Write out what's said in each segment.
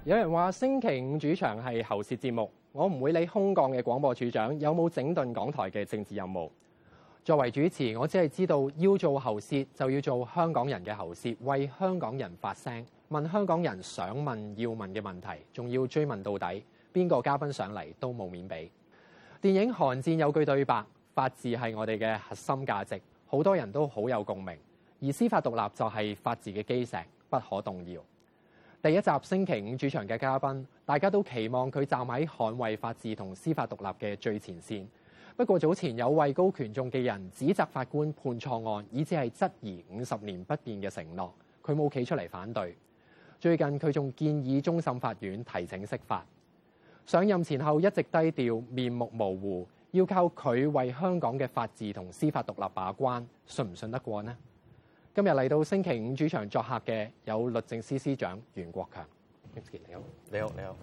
有人話星期五主場係喉舌節目，我唔會理空降嘅廣播處長有冇整頓港台嘅政治任務。作為主持，我只係知道要做喉舌就要做香港人嘅喉舌，為香港人發聲，問香港人想問要問嘅問題，仲要追問到底。邊個嘉賓上嚟都冇面俾。電影《寒戰》有句對白：法治係我哋嘅核心價值，好多人都好有共鳴。而司法獨立就係法治嘅基石，不可動搖。第一集星期五主場嘅嘉賓，大家都期望佢站喺捍衛法治同司法獨立嘅最前線。不過早前有位高權重嘅人指責法官判錯案，以至係質疑50年不變嘅承諾，佢冇企出嚟反對。最近佢仲建議終審法院提請釋法。上任前後一直低調，面目模糊，要靠佢為香港嘅法治同司法獨立把關，信唔信得過呢？今日嚟到星期五主場作客嘅有律政司司長袁國強。你好， 你好，你好。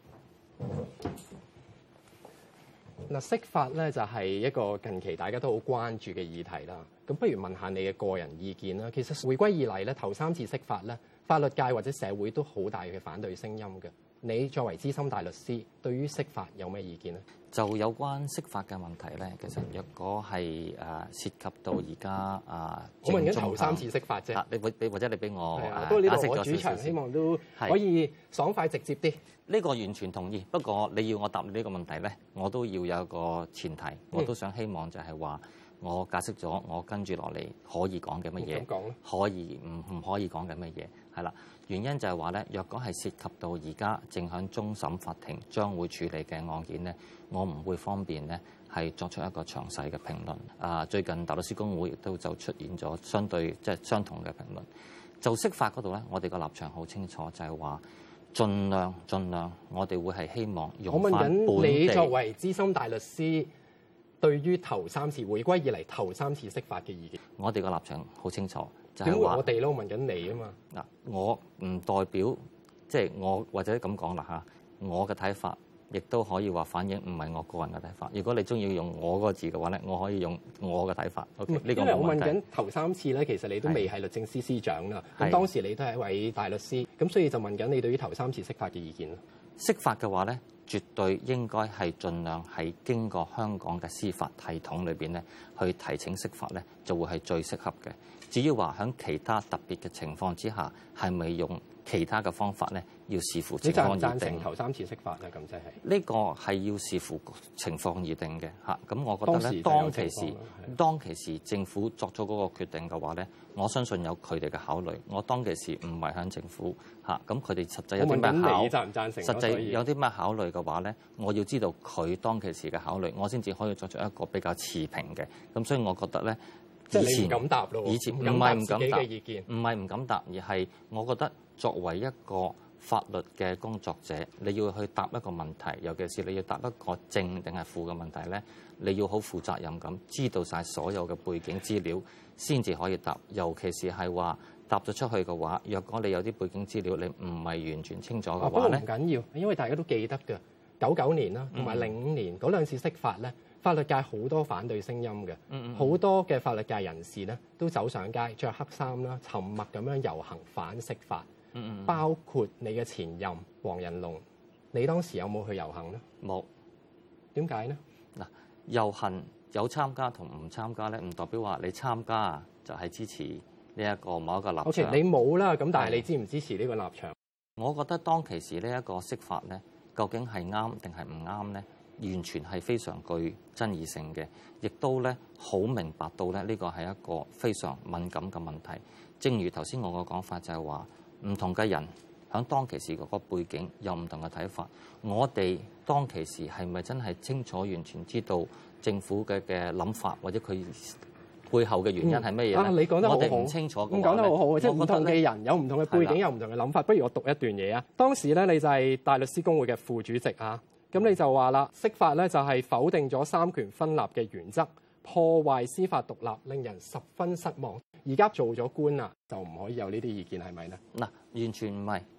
嗱，釋法咧就係一個近期大家都好關注嘅議題啦。咁不如問下你嘅個人意見啦。其實回歸以嚟咧，頭3次釋法咧，法律界或者社會都好大嘅反對聲音嘅。你作為資深大律師，對於釋法有咩意見咧？ 就有關釋法嘅問題咧，其實若果係涉及到而家我問緊頭3次釋法啫。 你或者你俾我不過呢度解釋咗我主場， 少少希望都可以爽快直接啲。 呢個完全同意。不過你要我答你呢個問題咧，我都要有一個前提，我都想希望就係話我解釋咗我跟住落嚟可以講嘅乜嘢，可以唔可以講嘅乜嘢，係啦。原因就係話咧，若果係涉及到而家正響終審法庭將會處理嘅案件咧，我唔會方便咧係作出一個詳細嘅評論。最近大律師公會亦都就出現咗相對相同嘅評論。就釋法嗰度咧，我哋個立場好清楚，就係話盡量，我哋會係希望用翻本地。 我問緊你作為資深大律師，對於頭3次回歸以嚟頭3次釋法嘅意見， 我哋個立場好清楚。 點會我哋咯？問緊你啊嘛。 嗱，我唔代表我或者咁講啦嚇，我嘅睇法亦都可以話反映唔係我個人嘅睇法。如果你中意用我嗰個字嘅話咧，我可以用我嘅睇法。OK，呢個冇問題。因為我問緊頭3次咧，其實你都未係律政司司長啦。咁當時你都係一位大律師，咁所以就問緊你對於頭3次釋法嘅意見啦。釋法嘅話咧，絕對應該係盡量係經過香港嘅司法系統裏邊咧，去提請釋法咧，就會係最適合嘅。至於話喺其他特別嘅情況之下，係咪用其他嘅方法咧？要視乎情況而定。你贊唔贊成頭3次釋法咧？咁即係呢個係要視乎情況而定嘅嚇。咁我覺得咧，當其時政府作咗嗰個決定嘅話咧，我相信有佢哋嘅考慮。我當其時唔係響政府嚇，咁佢哋實際有啲咩考？ 你贊唔贊成？ 實際有啲咩考慮嘅話咧，我要知道佢當其時嘅考慮，我先至可以作出一個比較持平嘅。咁所以我覺得咧。 即係你唔敢答咯， 以前唔係唔敢答，唔係唔敢答，而係我覺得作為一個法律嘅工作者，你要去答一個問題，尤其是你要答一個正定係負嘅問題咧，你要好負責任咁知道晒所有嘅背景資料，先至可以答。尤其是係話答咗出去嘅話，若果你有啲背景資料你唔係完全清楚嘅話咧， 不過唔緊要，因為大家都記得嘅99年啦，同埋05年嗰2次釋法咧。法律界好多反對聲音嘅，好多嘅法律界人士咧都走上街，着黑衫啦，沉默咁樣遊行反釋法。包括你嘅前任黃仁龍，你當時有冇去遊行呢？ 冇。 點解呢？ 嗱，遊行有參加同唔參加咧，唔代表話你參加就係支持呢一個某一個立場。 好似你冇啦，咁但係你支唔支持呢個立場？ 我覺得當其時呢一個釋法咧，究竟係啱定係唔啱咧？完全係非常具爭議性嘅，亦都咧好明白到咧呢個係一個非常敏感嘅問題。正如頭先我個講法就係話，唔同嘅人響當其時嗰個背景有唔同嘅睇法。我哋當其時係咪真係清楚完全知道政府嘅諗法，或者佢背後嘅原因係乜嘢咧？ 你講得好好， 我哋唔清楚嘅話咧， 講得好好，即係唔同嘅人有唔同嘅背景，有唔同嘅諗法。不如我讀一段嘢啊。當時咧，你就係大律師公會嘅副主席啊。咁你就話啦，釋法咧就係否定咗三權分立嘅原則，破壞司法獨立，令人十分失望。而家做咗官啦，就唔可以有呢啲意見，係咪咧？ 嗱，完全唔係。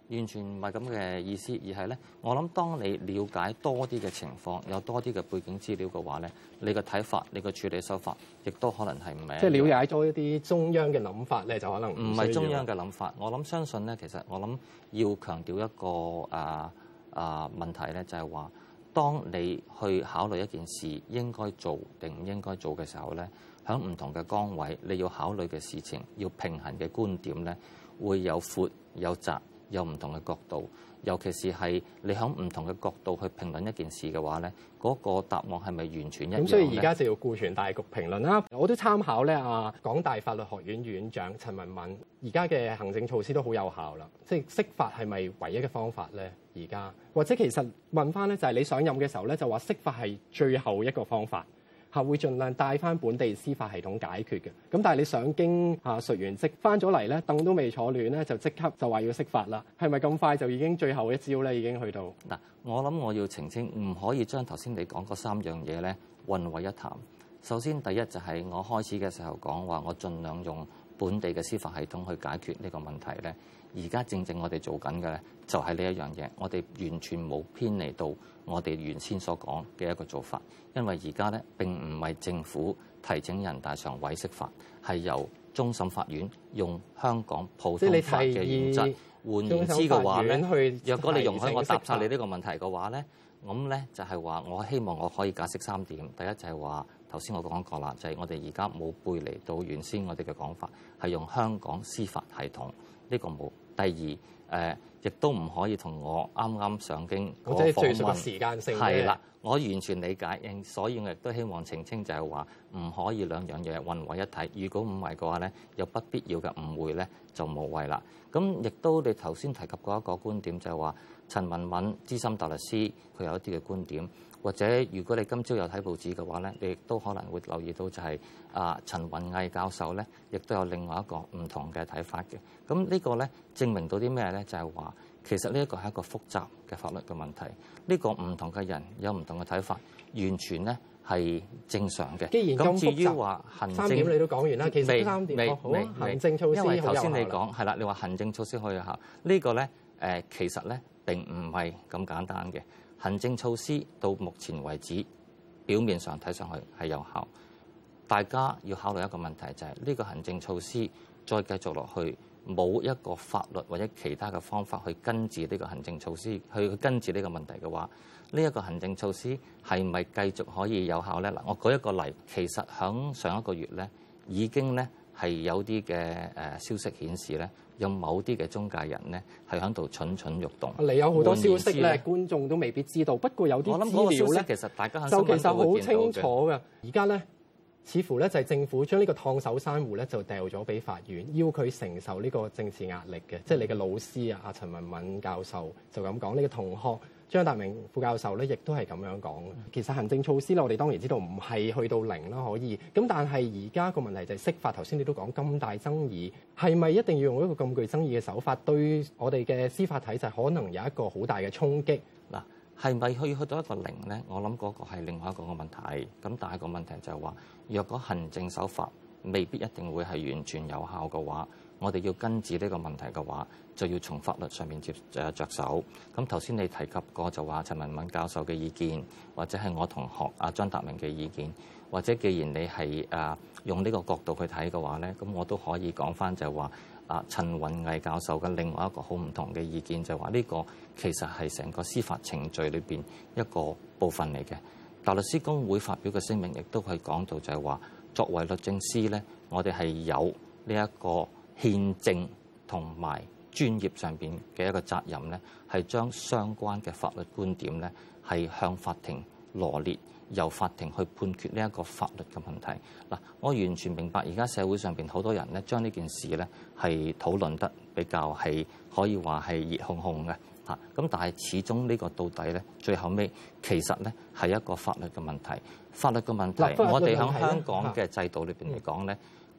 完全唔係咁嘅意思，而係咧，我諗當你了解多啲嘅情況，有多啲嘅背景資料嘅話咧，你嘅睇法、你嘅處理手法，亦都可能係唔係。 即係了解多一啲中央嘅諗法咧，就可能唔係中央嘅諗法。我諗相信咧，其實我諗要強調一個問題咧，就係話，當你去考慮一件事應該做定唔應該做嘅時候咧，喺唔同嘅崗位，你要考慮嘅事情，要平衡嘅觀點咧，會有闊有窄。有唔同嘅角度，尤其是係你喺唔同嘅角度去評論一件事嘅話咧，嗰個答案係咪完全一樣？ 咁所以而家就要顧全大局評論啦。我都參考咧港大法律學院院長陳文敏，而家嘅行政措施都好有效啦。即係釋法係咪唯一嘅方法咧？而家或者其實問翻咧，就係你上任嘅時候咧，就話釋法係最後一個方法。會盡量帶翻本地司法系統解決嘅，咁但係你上京述完職翻咗嚟咧，凳都未坐暖咧，就即刻就話要釋法啦，係咪咁快就已經最後一招咧？已經去到嗱，我諗我要澄清，唔可以將頭先你講嗰3樣嘢咧混為一談。首先第一就係我開始嘅時候講話，我盡量用本地嘅司法系統去解決呢個問題咧。而家正正我哋做緊嘅咧，就係呢一樣嘢，我哋完全冇偏離到我哋原先所講嘅一個做法，因為而家咧並唔係政府提請人大常委釋法，係由終審法院用香港普通法嘅原則。換言之嘅話咧，若果你容許我答晒你呢個問題嘅話咧，咁咧就係話我希望我可以解釋3點。第一就係話頭先我講過啦，就係我哋而家冇背離到原先我哋嘅講法，係用香港司法系統，呢個冇。第二亦都唔可以同我啱啱上京嗰個訪問時間性係啦，我完全理解，所以我亦都希望澄清就係話唔可以兩樣嘢混為一體。如果唔係嘅話咧，有不必要嘅誤會咧就無謂啦。咁亦都你頭先提及過一個觀點，就係話陳文敏資深大律師佢有一啲嘅觀點，或者如果你今朝有睇報紙嘅話咧，你亦都可能會留意到就係陳雲毅教授咧，亦都有另外一個唔同嘅睇法嘅。咁呢個咧證明到啲咩咧？就係話其實呢一個係一個複雜嘅法律嘅問題。呢個唔同嘅人有唔同嘅睇法，完全咧係正常嘅。 既然咁至於話行政 3點你都講完啦，其實3點好行政措施， 因為頭先你講係啦，你話行政措施可以有效，呢個咧其實咧並唔係咁簡單嘅。行政措施到目前為止，表面上睇上去係有效，大家要考慮一個問題，就係呢個行政措施再繼續落去，冇一個法律或者其他嘅方法去根治呢個行政措施，去根治呢個問題嘅話，呢一個行政措施係咪繼續可以有效咧？嗱，我舉一個例，其實響上一個月咧，已經咧係有啲嘅消息顯示咧，有某啲嘅中介人咧係喺度蠢蠢欲動。 你有好多消息咧，觀眾都未必知道。不過有啲資料咧， 其實大家就其實好清楚嘅。而家咧，似乎咧就係政府將呢個燙手山芋咧就掉咗俾法院，要佢承受呢個政治壓力嘅。即係你嘅老師啊，陳文敏教授就咁講，你嘅同學張達明副教授咧，亦都係咁樣講。其實行政措施咧，我哋當然知道唔係去到0啦，可以。咁但係而家個問題就係釋法。頭先你都講咁大爭議，係咪一定要用一個咁具爭議嘅手法，對我哋嘅司法體制可能有一個好大嘅衝擊？ 嗱，係咪去到一個0咧？我諗嗰個係另外一個嘅問題。咁但係個問題就係話，若果行政手法未必一定會係完全有效嘅話，我哋要根治呢個問題嘅話，就要從法律上面着手。咁頭先你提及過就話陳文敏教授嘅意見，或者係我同學張達明嘅意見，或者既然你係用呢個角度去睇嘅話咧，咁我都可以講翻就係話陳雲毅教授嘅另外一個好唔同嘅意見，就係話呢個其實係成個司法程序裏邊一個部分嚟嘅。大律師公會發表嘅聲明亦都係講到就係話，作為律政司咧，我哋係有呢一個憲政同埋專業上邊嘅一個責任咧，係將相關嘅法律觀點咧係向法庭羅列，由法庭去判決呢一個法律嘅問題。嗱，我完全明白而家社會上邊好多人咧將呢件事咧係討論得比較係可以話係熱烘烘嘅嚇。咁但係始終呢個到底咧，最後尾其實咧係一個法律嘅問題。法律嘅問題，我哋喺香港嘅制度裏邊嚟講咧，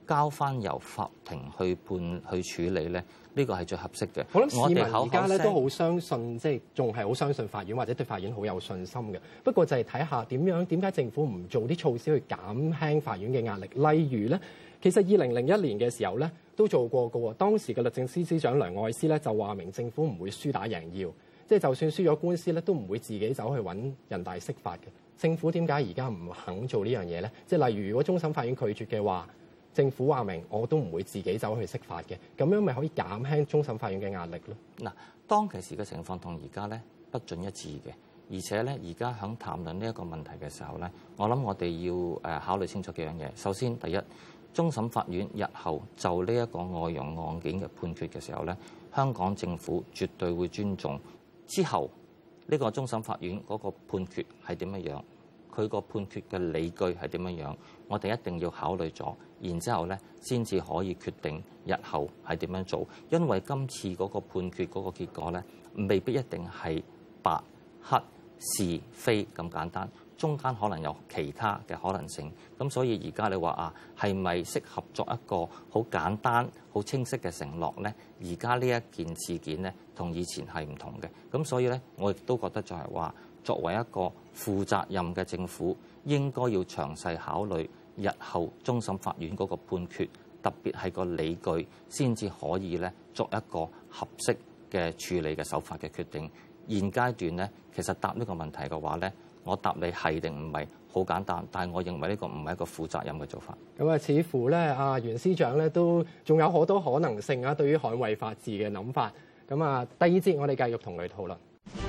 交翻由法庭去處理咧，呢個係最合適嘅。 我諗市民哋而家咧都好相信，即係仲係好相信法院或者對法院好有信心嘅。不過就係睇下點解政府唔做啲措施去減輕法院嘅壓力。例如咧，其實2001年嘅時候咧都做過嘅喎。當時嘅律政司司長梁愛詩咧就話明政府唔會輸打贏要，即係就算輸咗官司咧都唔會自己走去揾人大釋法嘅。政府點解而家唔肯做呢樣嘢咧？即係例如如果終審法院拒絕嘅話，政府話明我都唔會自己走去釋法嘅，咁樣咪可以減輕終審法院嘅壓力咯。 嗱，當其時嘅情況同而家咧不盡一致嘅，而且咧而家響談論呢一個問題嘅時候咧，我諗我哋要考慮清楚幾樣嘢。首先，第一，終審法院日後就呢一個外傭案件嘅判決嘅時候咧，香港政府絕對會尊重之後呢個終審法院嗰個判決係點樣樣，佢個判決嘅理據係點樣樣，我哋一定要考慮咗，然之後咧先至可以決定日後係點樣做。因為今次嗰個判決嗰個結果咧，未必一定係白黑是非咁簡單，中間可能有其他嘅可能性。咁所以而家你話啊，係咪適合作一個好簡單、好清晰嘅承諾咧？而家呢一件事件咧，同以前係唔同嘅。咁所以咧，我亦都覺得就係話，作為一個負責任嘅政府，應該要詳細考慮日後終審法院嗰個判決，特別係個理據，先至可以咧作一個合適嘅處理嘅手法嘅決定。現階段咧，其實答呢個問題嘅話咧，我答你係定唔係好簡單，但係我認為呢個唔係一個負責任嘅做法。 咁啊，似乎咧，袁司長咧都仲有好多可能性啊，對於捍衛法治嘅諗法。咁啊，第二節我哋繼續同佢討論。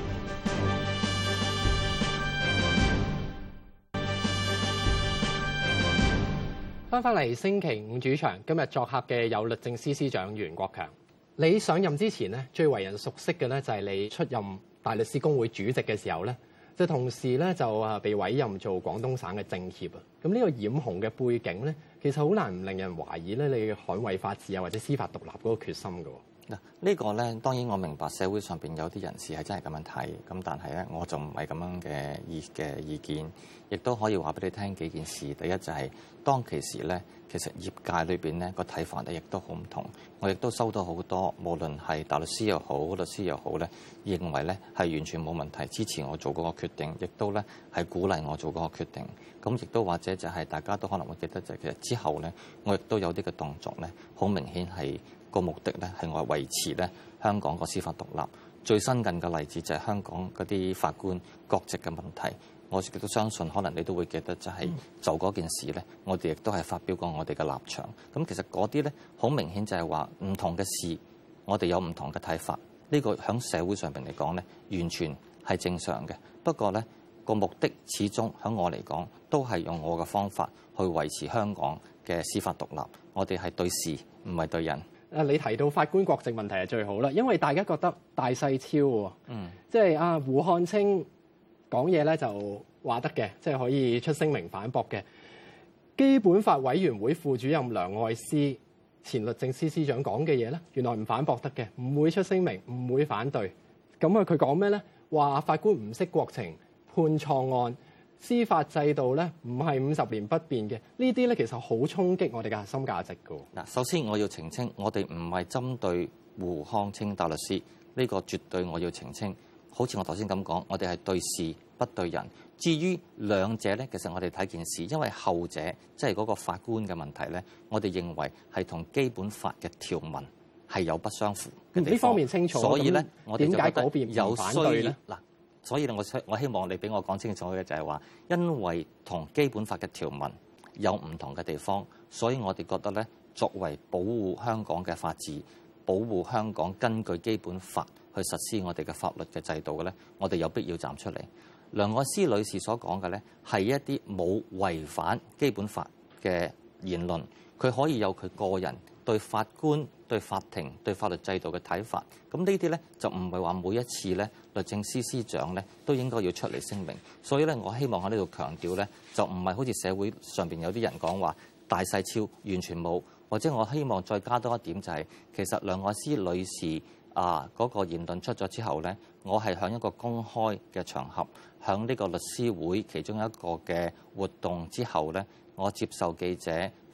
翻嚟星期五主場，今日作客嘅有律政司司長袁國強。你上任之前咧，最為人熟悉嘅咧就係你出任大律師公會主席嘅時候咧，就同時咧就被委任做廣東省嘅政協啊。咁呢個染紅嘅背景咧，其實好難唔令人懷疑咧你捍衛法治啊或者司法獨立嗰個決心㗎。 嗱，呢個咧當然我明白社會上邊有啲人士係真係咁樣睇，咁但係咧我就唔係咁樣嘅意見，亦都可以話俾你聽幾件事。第一就係當其時咧，其實業界裏邊咧個睇法咧亦都好唔同。我亦都收到好多，無論係大律師又好、律師又好咧，認為咧係完全冇問題，支持我做嗰個決定，亦都咧係鼓勵我做嗰個決定。咁亦都或者就係大家都可能會記得，就係其實之後咧，我亦都有啲嘅動作咧，好明顯係個目的咧係我維持咧香港個司法獨立。最新近嘅例子就係香港嗰啲法官國籍嘅問題。我亦都相信，可能你都會記得，就係就嗰件事咧，我哋亦都係發表過我哋嘅立場。咁其實嗰啲咧，好明顯就係話唔同嘅事，我哋有唔同嘅睇法。呢個喺社會上邊嚟講咧，完全係正常嘅。不過咧，個目的始終喺我嚟講，都係用我嘅方法去維持香港嘅司法獨立。我哋係對事，唔係對人。 你提到法官國籍問題係最好啦，因為大家覺得大細超喎，即係胡漢清講嘢咧就話得嘅，即係可以出聲明反駁嘅。基本法委員會副主任梁愛詩、前律政司司長講嘅嘢咧，原來唔反駁得嘅，唔會出聲明，唔會反對。咁佢講咩咧？話法官唔識國情，判錯案，司法制度咧唔係50年不變嘅。呢啲咧其實好衝擊我哋嘅核心價值㗎。 嗱，首先我要澄清，我哋唔係針對胡漢清大律師，呢個絕對我要澄清。好似我頭先咁講，我哋係對事不對人。至於兩者咧，其實我哋睇件事，因為後者即係嗰個法官嘅問題咧，我哋認為係同基本法嘅條文係有不相符嘅地方。 呢方面清楚， 所以咧，我哋就覺得有反對咧。 嗱，所以咧，我希望你俾我講清楚嘅就係話，因為同基本法嘅條文有唔同嘅地方，所以我哋覺得咧，作為保護香港嘅法治、保護香港根據基本法去實施我哋嘅法律嘅制度嘅咧，我哋有必要站出嚟。梁愛詩女士所講嘅咧，係一啲冇違反基本法嘅言論，佢可以有佢個人對法官、對法庭、對法律制度嘅睇法。咁呢啲咧就唔係話每一次咧律政司司長咧都應該要出嚟聲明。所以咧，我希望喺呢度強調咧，就唔係好似社會上邊有啲人講話大細超完全冇，或者我希望再加多一點就係，其實梁愛詩女士嗰個言論出咗之後咧，我係喺一個公開嘅場合，喺呢個律師會其中一個嘅活動之後咧，我接受記者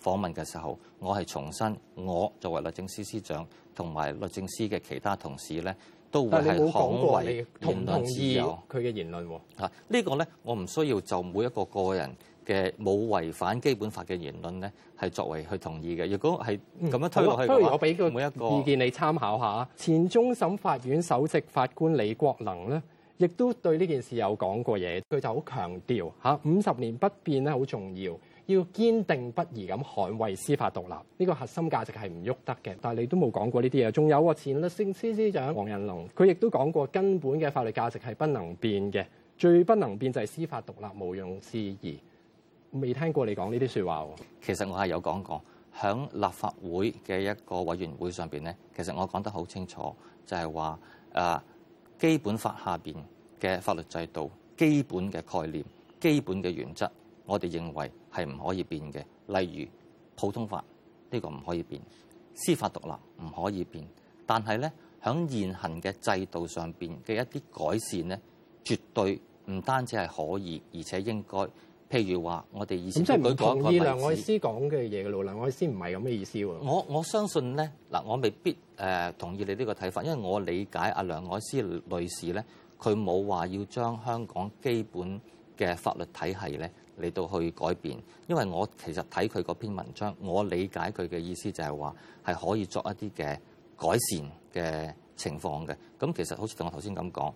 訪問嘅時候，我係重申，我作為律政司司長同埋律政司嘅其他同事咧，都會係捍衛言論自由。 佢嘅言論喎。 呢個咧，我唔需要就每一個個人嘅冇違反基本法嘅言論咧，係作為去同意嘅。如果係咁樣推落去嘅話， 不如我俾個每一個意見你參考下。前終審法院首席法官李國能咧，亦都對呢件事有講過嘢。佢就好強調50年不變咧好重要，要堅定不移咁捍衛司法獨立。呢個核心價值係唔喐得嘅。但係你都冇講過呢啲嘢。仲有前律政司司長黃仁龍，佢亦都講過根本嘅法律價值係不能變嘅，最不能變就係司法獨立，毋庸置疑。未聽過你講呢啲説話喎。 其實我係有講過，響立法會嘅一個委員會上邊咧，其實我講得好清楚，就係話基本法下邊嘅法律制度、基本嘅概念、基本嘅原則，我哋認為係唔可以變嘅。例如普通法呢個唔可以變，司法獨立唔可以變，但係咧響現行嘅制度上邊嘅一啲改善咧，絕對唔單止係可以，而且應該。譬如話，我哋以前即係唔同意梁愛詩詩講嘅嘢嘅咯。梁愛詩唔係咁嘅意思喎。 我相信咧嗱，我未必同意你呢個睇法，因為我理解阿梁愛詩女士咧，佢冇話要將香港基本嘅法律體系咧嚟到去改變。因為我其實睇佢嗰篇文章，我理解佢嘅意思就係話係可以作一啲嘅改善嘅情況嘅。咁其實好似同我頭先咁講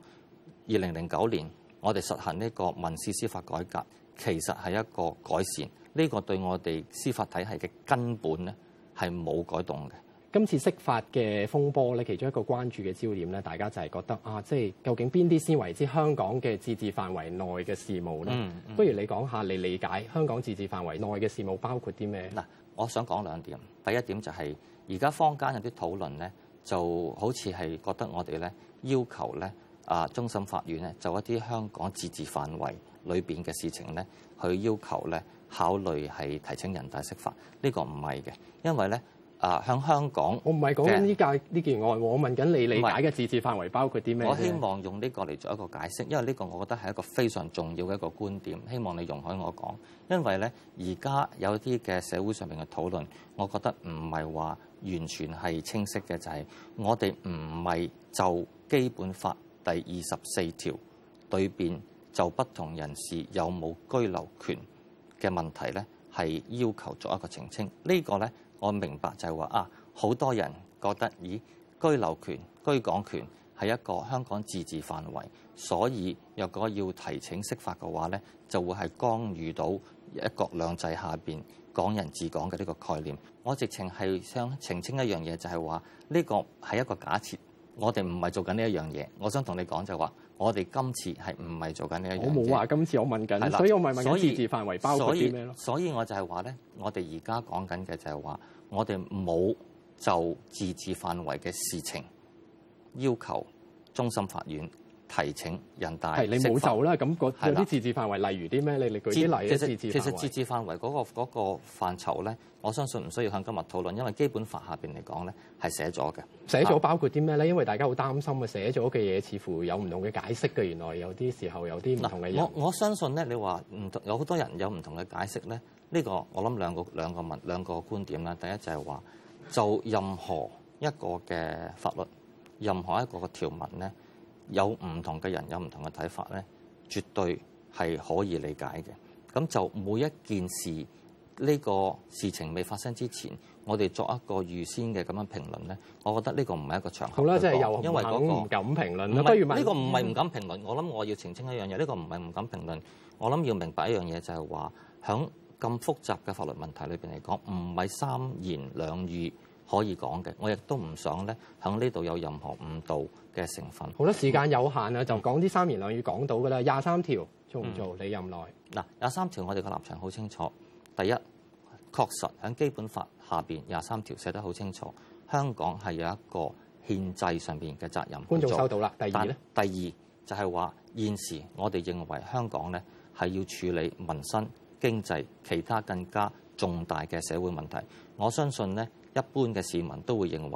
，2009年我哋實行呢個民事司法改革。其實係一個改善，呢個對我哋司法體系嘅根本咧係冇改動嘅。 今次釋法嘅風波咧，其中一個關注嘅焦點咧，大家就係覺得即係究竟邊啲先為之香港嘅自治範圍內嘅事務咧？不如你講下你理解香港自治範圍內嘅事務包括啲咩？ 嗱，我想講兩點。第一點就係而家坊間有啲討論咧，就好似係覺得我哋咧要求咧終審法院咧就一啲香港自治範圍裏邊嘅事情咧，去要求咧考慮係提請人大釋法，呢個唔係嘅，因為咧向香港， 我唔係講緊呢件案，我問緊你理解嘅自治範圍包括啲咩？ 我希望用呢個嚟做一個解釋，因為呢個我覺得係一個非常重要嘅一個觀點，希望你容許我講。因為咧而家有啲嘅社會上面嘅討論，我覺得唔係話完全係清晰嘅，就係我哋唔係就基本法第24條裏邊就不同人士有冇居留權嘅問題咧，係要求作一個澄清。呢個咧，我明白就係話好多人覺得居留權、居港權係一個香港自治範圍，所以若果要提請釋法嘅話咧，就會係干預到一國兩制下邊港人治港嘅呢個概念。我直情係想澄清一樣嘢，就係話呢個係一個假設，我哋唔係做緊呢一樣嘢。我想同你講就係話，我哋今次係唔係做緊呢一樣嘢？我冇話今次，我問緊，所以我咪問緊自治範圍包括啲咩咯？ 所以我就係話咧，我哋而家講緊嘅就係話，我哋冇就自治範圍嘅事情要求終審法院提請人大釋法。係你冇就啦，咁有啲自治範圍，例如啲咩？你舉啲例啊？ 其實自治範圍嗰個範疇咧，我相信唔需要向今日討論，因為基本法下邊嚟講咧係寫咗嘅。 寫咗包括啲咩咧？因為大家好擔心寫咗嘅嘢似乎有唔同嘅解釋嘅。原來有啲時候有啲唔同嘅人。 我相信咧，你話唔同有好多人有唔同嘅解釋咧，呢個我諗兩個觀點啦。第一就係話，就任何一個嘅法律，任何一個嘅條文咧，有唔同嘅人有唔同嘅睇法咧，絕對係可以理解嘅。咁就每一件事呢個事情未發生之前，我哋作一個預先嘅咁樣評論咧，我覺得呢個唔係一個場合。 好啦，即係又因為唔敢評論。 不如呢個唔係唔敢評論。我諗我要澄清一樣嘢，呢個唔係唔敢評論。我諗要明白一樣嘢，就係話響咁複雜嘅法律問題裏邊嚟講，唔係三言兩語可以講嘅。我亦都唔想咧響呢度有任何誤導嘅成分。 好啦，時間有限啊，就講啲三言兩語講到㗎啦。23條做唔做？你任內嗱，23條我哋嘅立場好清楚。第一，確實喺基本法下邊23條寫得好清楚，香港係有一個憲制上邊嘅責任。 觀眾收到啦。第二咧？ 第二就係話現時我哋認為香港咧係要處理民生、經濟、其他更加重大嘅社會問題。我相信咧，一般嘅市民都會認為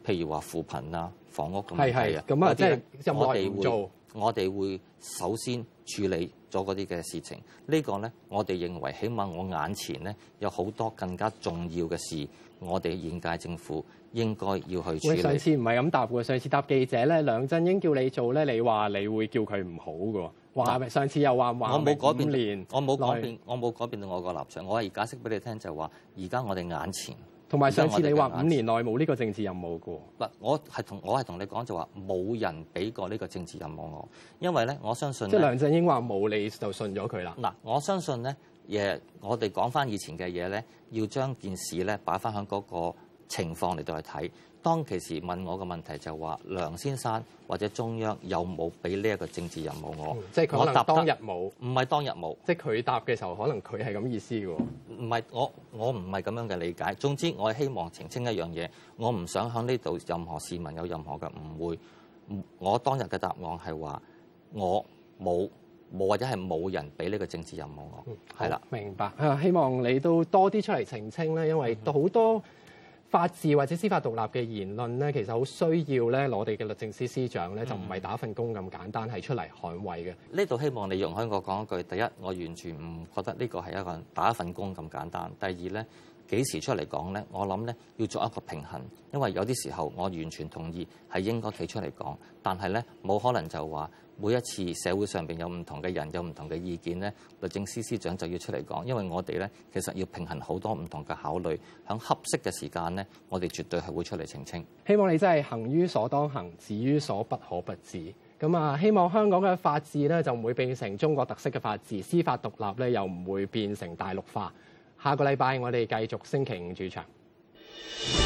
譬如話扶貧啊、房屋咁係係啊， 咁啊，即係任我哋內唔做。 我哋會首先處理咗嗰啲嘅事情。呢個咧，我哋認為起碼我眼前咧有好多更加重要嘅事，我哋現屆政府應該要去處喂， 理。 上次唔係咁答喎，上次答記者咧，梁振英叫你做咧，你話你會叫佢唔好嘅喎，話上次又話我冇改變 5年， 我冇改變，我冇改變到我個立場。我係解釋俾你聽，就係話而家我哋眼前。 同埋上次你話5年內冇呢個政治任務嘅喎。 嗱，我係同你講就話冇人俾過呢個政治任務我，因為咧我相信即係梁振英話冇，你就信咗佢啦。 嗱，我相信咧，我哋講翻以前嘅嘢咧，要將件事咧擺翻喺嗰個情況嚟到去睇。當其時問我嘅問題就話梁先生或者中央有冇俾呢一個政治任務我？ 即係佢可能當日冇， 唔係當日冇， 即係佢答嘅時候，可能佢係咁意思嘅喎。 唔係我唔係咁樣嘅理解。總之我係希望澄清一樣嘢，我唔想喺呢度任何市民有任何嘅誤會。我當日嘅答案係話我冇或者係冇人俾呢個政治任務我，係啦。 明白。希望你都多啲出嚟澄清咧，因為好多法治或者司法獨立嘅言論咧，其實好需要咧，我哋嘅律政司司長咧就唔係打份工咁簡單，係出嚟捍衞嘅。 呢度希望你容許我講一句，第一，我完全唔覺得呢個係一個打一份工咁簡單。第二咧，幾時出嚟講咧？我諗咧要做一個平衡，因為有啲時候我完全同意係應該企出嚟講，但係咧冇可能就話每一次社會上邊有唔同嘅人有唔同嘅意見咧，律政司司長就要出嚟講，因為我哋咧其實要平衡好多唔同嘅考慮，喺合適嘅時間咧，我哋絕對係會出嚟澄清。 希望你真係行於所當行，止於所不可不止。咁啊，希望香港嘅法治咧就唔會變成中國特色嘅法治，司法獨立咧又唔會變成大陸化。下個禮拜我哋繼續星期五主場。